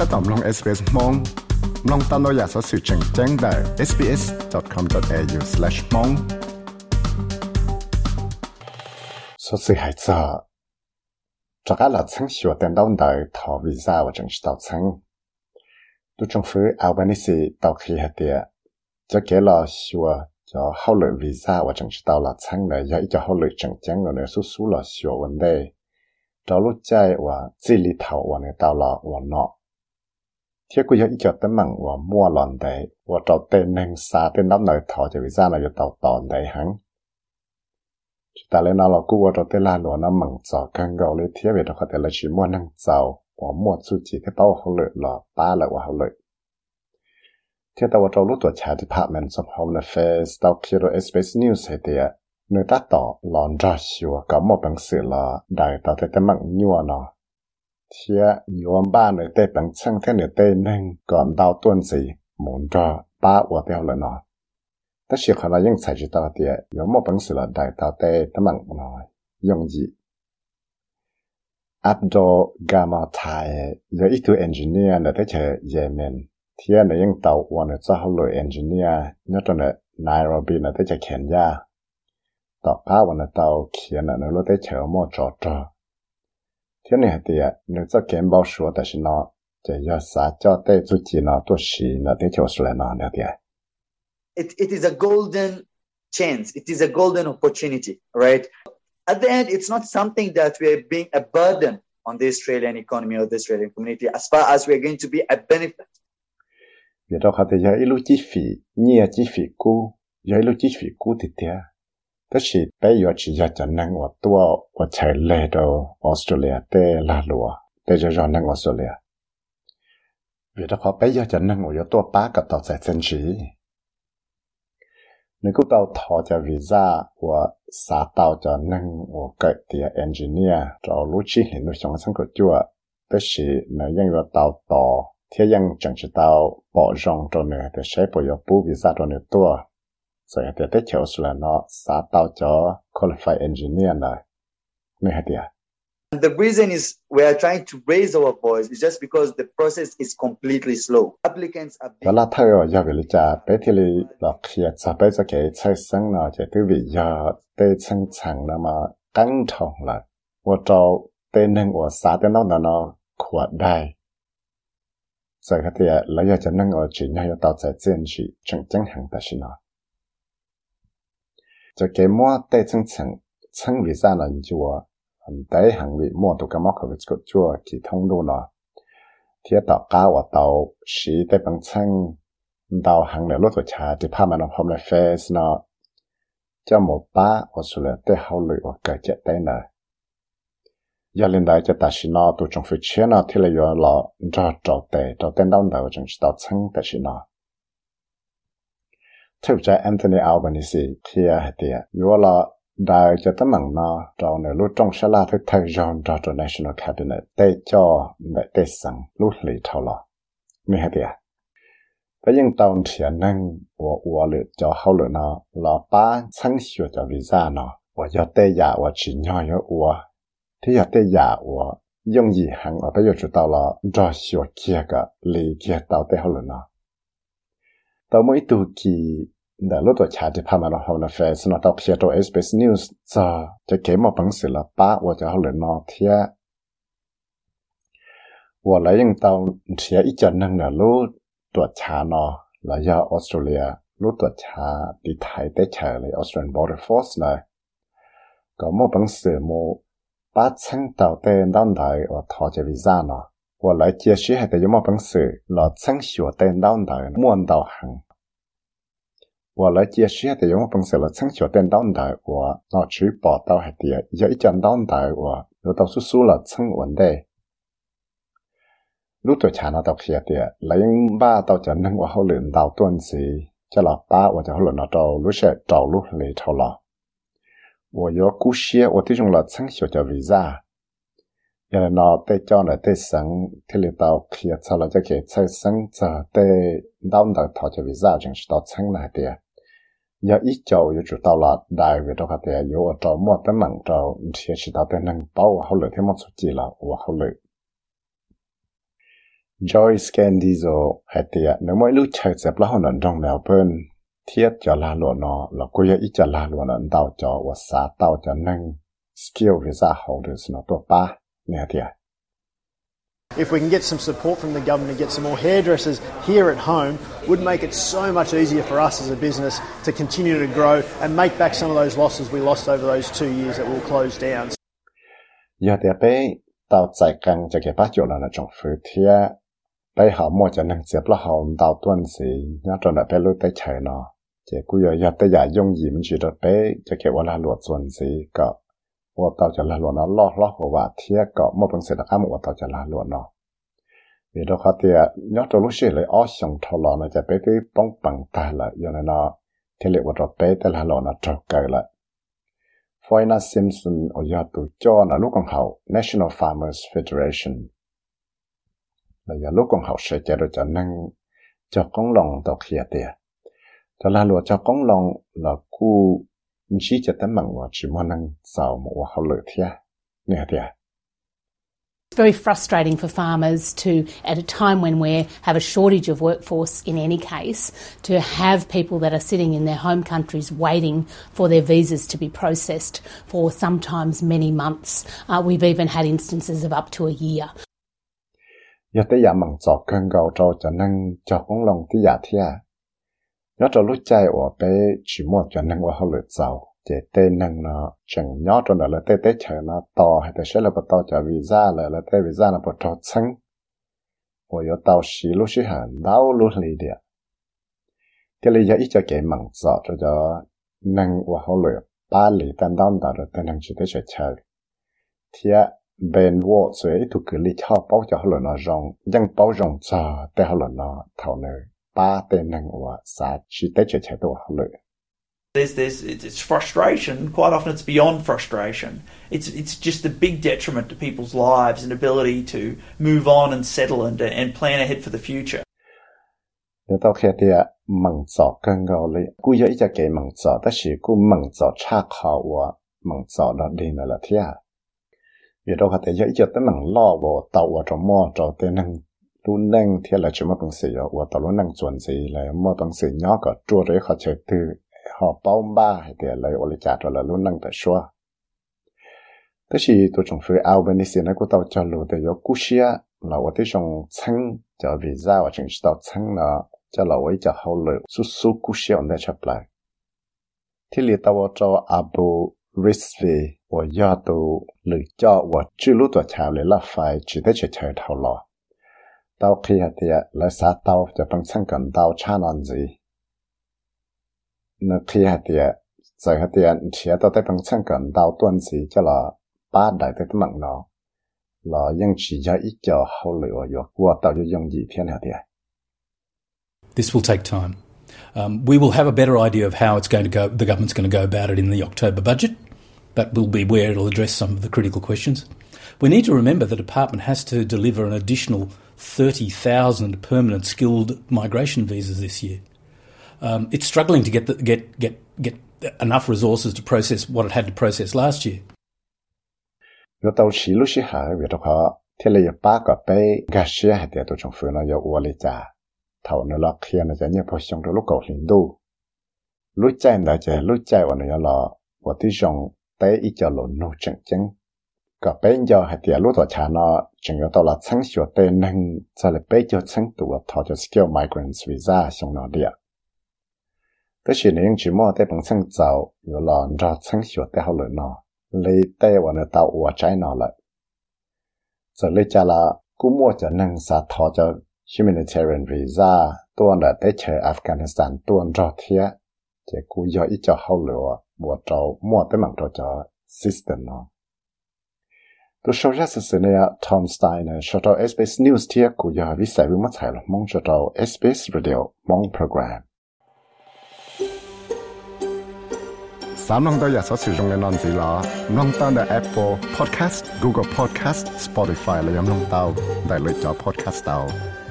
ถ้าตอบลง SBS มองลองตามเราอยากสอสื่อแจ้งได้ sbs.com.au/mong สอสื่อหายใจจากการหลัดชั้นชัวเต็มดาวได้ถอวีซ่าว่าจังสิตาวชั้นดูจงฟื้นเอาบันนี้สิตาวขี้หัดเดียจะเกล้อชัวจะเข้าเลยวีซ่าว่าจังสิตาวหลัดชั้นเลยยังอีจะเข้าเลยจังเลยสู้ๆหล่อชัววันเดย์เรารู้ใจว่าจีริเท่าวันในตาวหล่อวันเนาะเที่ยกูยังอีจะตั้งมั่งว่ามั่วหลอนได้ว่าเราเต้นหนึ่งซาเต้นน้ำหน่อยถอจะวีซ่าเราจะตาวตอนได้หังแต่เลยเรากูว่าเราเต้นลาหลวน้ำมั่งจ่อกันเกาเลยเที่ยเวทเขาแต่ละชิ้นมั่วนั่งเจ้าว่ามั่วสุจิที่เป้าเขาเลยหล่อป้าเลยว่าเขาเลยเที่ยแต่ว่าเรารู้ตัวชา Department of Home Affairs เราคิดว่า SBS News ให้เดียเนื้อตาต่อหลอนรอชัวก็หมดบังสือละได้ต่อแต่มั่งยัวเนาะเที่ยยัวบ้านเนื้อเต้บังช่างเท่เนื้อเต้หนึ่งก่อนดาวต้นสีหมุนรอป้าว่าเดียวเลยเนาะแต่เชื่อเขาเรายังใช้จิตต่อเดียยัวหมดบังสือละได้ต่อแต่มั่งน้อยยงยีอับโดกามาไทยยังอีกตัวเอนจิเนียร์เนื้อเจอเยเมนเที่ยเนื้อยังเตาวันเนื้อจะเขาเลยเอนจิเนียร์เนื้อตัวเนื้อไนโรบีเนื้อเจอเคนยาต่อป้าวันเตาเขียนเนื้อรถได้เฉอหมดจอดเที่ยเนี่ยเดียเนื้อจะเก็บบ่ชัวแต่ฉันเนาะจะยอดสาจอเต้จุจีเนาะตัวชีเนื้อได้เฉอสุดเลยเนาะเนี่ยเดีย It is a golden chance. It is a golden opportunity, right? At the end, it's not something that we are being a burden on the Australian economy or the Australian community as far as we are going to be a benefit. เดี๋ยวเราเขาจะย้ายลูกจีฟีเนี่ยจีฟีกูย้ายลูกจีฟีกูติดเดียแต่สิไปอยู่ที่จะนั่งว่าตัวว่าใช้เลย到ออสเตรเลียแต่ลาลัวแต่จะรอนั่งออสเตรเลียเดี๋ยวเขาไปอยู่จะนั่งว่าตัวป้ากับต่อใจเซนชีนึกกูต่อถอจะวีซ่าว่าสาต่อจะนั่งว่าเกิดเดียเอนจิเนียร์จะรู้ชีเห็นด้วยสองสังกัดจั่วแต่สิในยังว่าต่อเที่ยังจังจะต่อปอจงตัวเนื้อแต่ใช้ประโยชน์ปูวีซ่าตัวเนื้อตัวส่วนเดี๋ยวได้เขียวสุดเนาะสาต่อจะ qualified engineer เลยไม่ให้เดีย And the reason is we are trying to raise our voice is just because the process is completely slow. Applicants are เวลาเธออยากวิจารณ์ไปที่หลอกเขียนจะไปจะเกิดใช้สังเนาะจะตื้อวิยาเตะชังชังนะมาตั้งทองเลยว่าเราเตะหนึ่งว่าสาเตะน้องเนาะขวดได้ใส่กระเทียแล้วอยากจะนั่งเอาจีนให้ต่อใจเจียนจีจังหังแต่ชินะจะเก็บมั่วเตะชังวีซ่าหน่อยจัวอันได้หังวิมั่วตัวกระมอกเขาวิจกจัวกี่ท่องดูเนาะเทียต่อก้าวว่าเตาสีได้บางชังดาวหังในรถตัวชาที่พามันเอาพร้อมในเฟซเนาะเจ้าหมูป้าว่าสุดเลยได้เขาเลยว่าเกิดเจ็ดได้เนาะยาเล่นได้จะตัดสินอตัวจงฟิเชียนที่เลยว่าเราจอเตะเต้นดาวดาวจงตัดชังตัดสินอเท่าใจแอนโทนีอัลบานิซีเทียเดียอยู่ว่าเราได้จะตั้งมั่งเนาะเราในรุ่นจงชลาที่ไทยจอนเราตัว National Cabinet ได้จ่อได้สั่งรุ่นหลีเท่าเราไม่ให้เดียแต่ยังตอนเทียนนั่งว่าหรือจะเข้าหรือเนาะเราป้าชั้นชัวจะวีซ่าเนาะว่าจะได้ยาว่าชิ้นย่อยว่าที่อยากได้ยาว่า用以行我都要知道了这小这个理解到底好了呢到每度记的路多查的他们的好的 face 那到写到 SBS News 这给我本事了把我就好了呢贴我来用到贴一家人的路多查呢来要 Australia 路多查的台的查了 Australian Border Force 呢ก็我本事我把称到的当代我讨这 visa 呢，我来解释还得有么本事，老称学的当代摸到行。我来解释还得有么本事，老称学的当代我老去报道还得有一讲当代我有到叔叔了称文的。รู้ตัวชานะตอกเขียเดียแล้วยังบ้าตอกจะนั่งว่าเขาเหลือดาวต้นสีจะหลับป้าว่าจะเขาเหลือเรารู้เสียเจ้ารู้เลยเท่าไหร่我要故事，我这种了成小叫为啥？原来那对叫呢对生，听里到去操了这个才生这对老的他叫为啥？就是到成来的。要一叫就知道了，大约的话的有我找么的忙找，其实到的能把我好了天么出去了，我好了。 Joy Scandizo hay tiệt nếu mỗi lúc chơi dẹp là họ nằm trong Melbourne thiết cho la lụa nó là cô ấy cho la lụa nó đào cho và xã đào cho nâng skill visa holders nó tổ ba nè tiệt. If we can get some support from the government and get some more hairdressers here at home, would make it so much easier for us as a business to continue to grow and make back some of those losses we lost over those 2 years that will close down. Giờ thì bé tàu chạy căng cho cái bắt chỗ là trong phía thiệt bé họ mua cho nên dẹp là họ tàu tuần gì nhớ cho là bé lúc tới chơi nó chỉ cứ giờ tới giờ dùng gì mình chỉ được bé cho cái là luật tuần gì cả và tàu cho là luật nó lo và thiệt cả một phần sẽ được ăn một tàu cho là luật nó vì đó họ thì nhớ cho lúc xưa lại ở trong thầu lò nó cho bé cái bóng bằng tay lại cho nên nó thì liệuว่าbé tới là luật nó trâu cày lại Foyna Simpson ở giờ tụi cho là lúc còn học National Farmers Federation là giờ lúc còn học sẽ chạy được cho nên cho con lòng tàu kia tiền cho là lúa cho con lòng là cu chỉ cho tấm bằng và chỉ muốn năng giàu một học lợi thiệt nè thiệt. It's very frustrating for farmers to, at a time when we have a shortage of workforce in any case, to have people that are sitting in their home countries waiting for their visas to be processed for sometimes many months. We've even had instances of up to a year. Giờ tới giờ bằng giọt cơn gạo cho nên cho con lòng tới giờ thiệt. Nhớ cho lúc chạy ở bé chỉ muốn cho nên học lợi giàu. Chỉ tên năng nó chẳng nhớ cho nó là tế chờ nó to hay sẽ là to cho visa là tế visa là bắt đầu chân và có tàu xí lúc xí hẳn đau lúc lì địa thì lý do ít cho cái mảng giọt cho năng và hậu lửa ba lì tan đau đó rồi tên năng chỉ tế chờ thì bên vô dưới tụ cứ lý cho bao cho hậu lửa nó rong nhưng bao rong cho tế hậu lửa nó thảo nơi ba tên năng và xã chỉ tế chờ đồ hậu lửa. It's frustration. Quite often, it's beyond frustration. It's just a big detriment to people's lives and ability to move on and settle and plan ahead for the future. Nếu tao khi thì mảng giỏ cơn gạo lấy, cú giờ ít cái mảng giỏ,但是cú mảng giỏ差考我mảng giỏ đó đi nữa là thế à? Vì đâu có thể giờ ít tới mảng lo vào tàu vào trong mò trong tên năng luôn năng thì là chỉ một bằng sự rồi, và tàu luôn năng chuẩn gì là một bằng sự nhỏ có chua đấy họ chơi từ họ bao ba hay thì lấy ô lê chả rồi là luôn năng tại xóa. Thế thì tôi trong phía Albanese này của tao cho lũ để có cú xia là ở đây trong chân cho visa và chính tao chân là cho là ở cho hậu lũ su cú xia ở đây chấp lại. Thì li tao cho Abu Rizvi và giờ tôi lựa cho và chưa lúc tôi chào lại là phải chỉ để chơi thầu lò. Tao khi thì là xã tao cho bằng chân cần tao cha non gì. Nó khi hạt địa, giờ hạt địa chỉ tao tới bằng chân cần đào tuần gì cho là ba đại tới tấm bằng nó là những chỉ cho ít cho hậu lửa rồi qua tao cho dùng gì thiên hạt địa. This will take time. We will have a better idea of how it's going to go. The government's going to go about it in the October budget. That will be where it'll address some of the critical questions. We need to remember the department has to deliver an additional 30,000 permanent skilled migration visas this year. It's struggling to get enough resources to process what it had to process last year. Nếu tao chỉ lúc xí hả vì đó họ thì là ba cái bé gasia hay để tôi trong phương nó yêu uo lì cha thầu nó là khi nóจะเนี่ยพอช่องตัวลูกเก่าหินดูรู้ใจนะจะรู้ใจว่าเนี่ยละว่าที่ช่องเตะอีจะหล่นโนจังก็เป็นยอให้เดี๋ยวรู้ตัวชาเนาะจึงจะตัวละชั้นชัวเตนึงจะเลยไปจะชั้นตัวทอจะ skill migrants visa ช่องนอเดียแต่สิ่งนี้ยัง只摸在本身走有了让ชั้นชัวแต่เขาเลยเนาะเลยแต่ว่าเนี่ยตัวหัวใจเนาะเลยจะเลยจะละกูมั่วจะนั่งสาทอจะhumanitarian visa ตัวน่ะได้เจออัฟกานิสถานตัวรอเทียจะกูย่ออีจะเข้าเหลือบัวเจ้ามั่วแต่มันตัวจะ system เนาะตัวโซเชียลสื่อเนี่ยทอมสไตน์เนี่ยชอบตัว SBS News เทียกูย่อวิสัยวิมัติหรอกมองชอบตัว SBS Radio มองโปรแกรมสามน้องตัวอยากสอดสื่อตรงในนอนสีล้อน้องตั้งแต่ Apple Podcast Google Podcast Spotify และยังน้องเต้าได้เลยจอ Podcast เต้า